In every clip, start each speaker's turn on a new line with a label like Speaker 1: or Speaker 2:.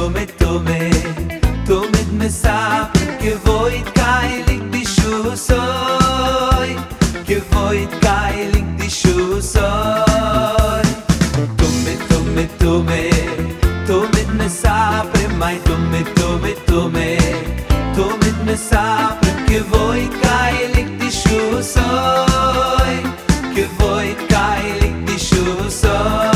Speaker 1: tome, mit mesap, gewoit keilig di shusoy, gewoit keilig di shusoy. Tome, mit mesap, mai tome, mit mesap, gewoit keilig di shusoy, gewoit keilig di shusoy.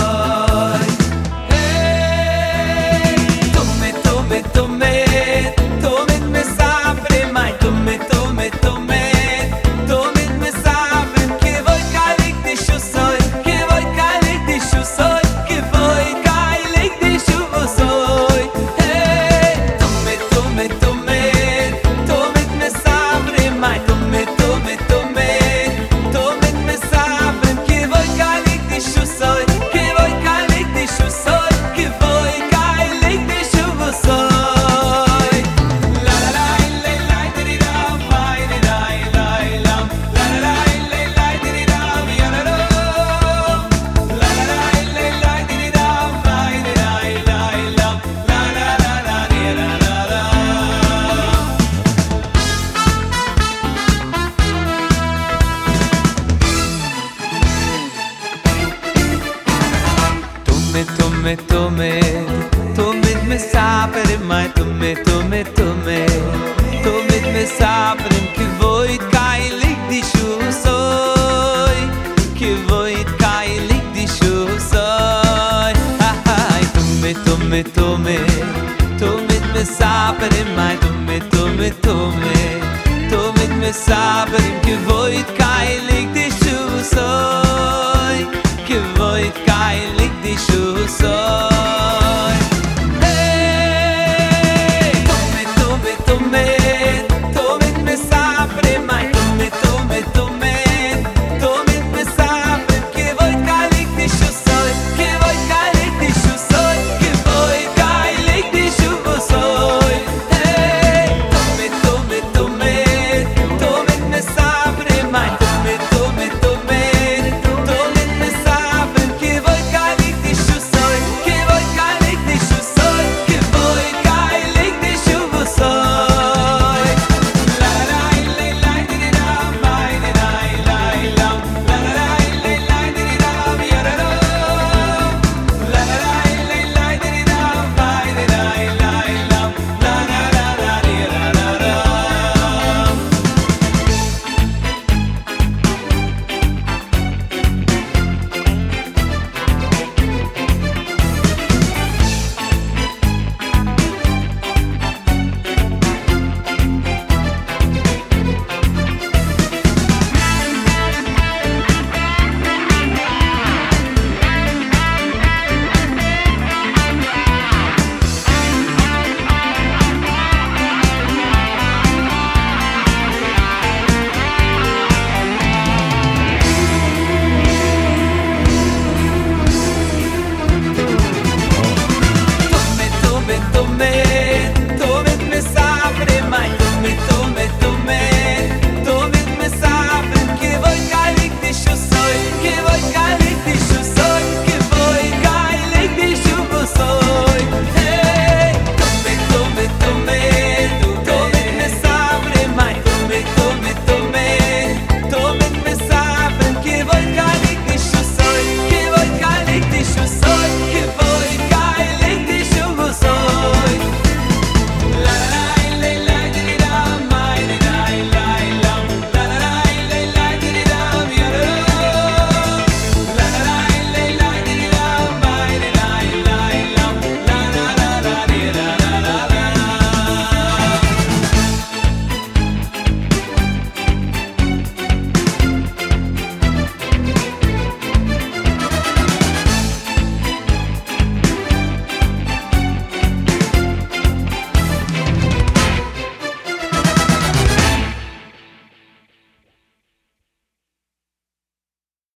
Speaker 1: Tome, me saper mai tome, me saper que voit keilig di shusoy, que voit keilig di shusoy. Ai, tome, me saper mai tome, me saper que voit keilig di shusoy, que voit keilig di shusoy. Tome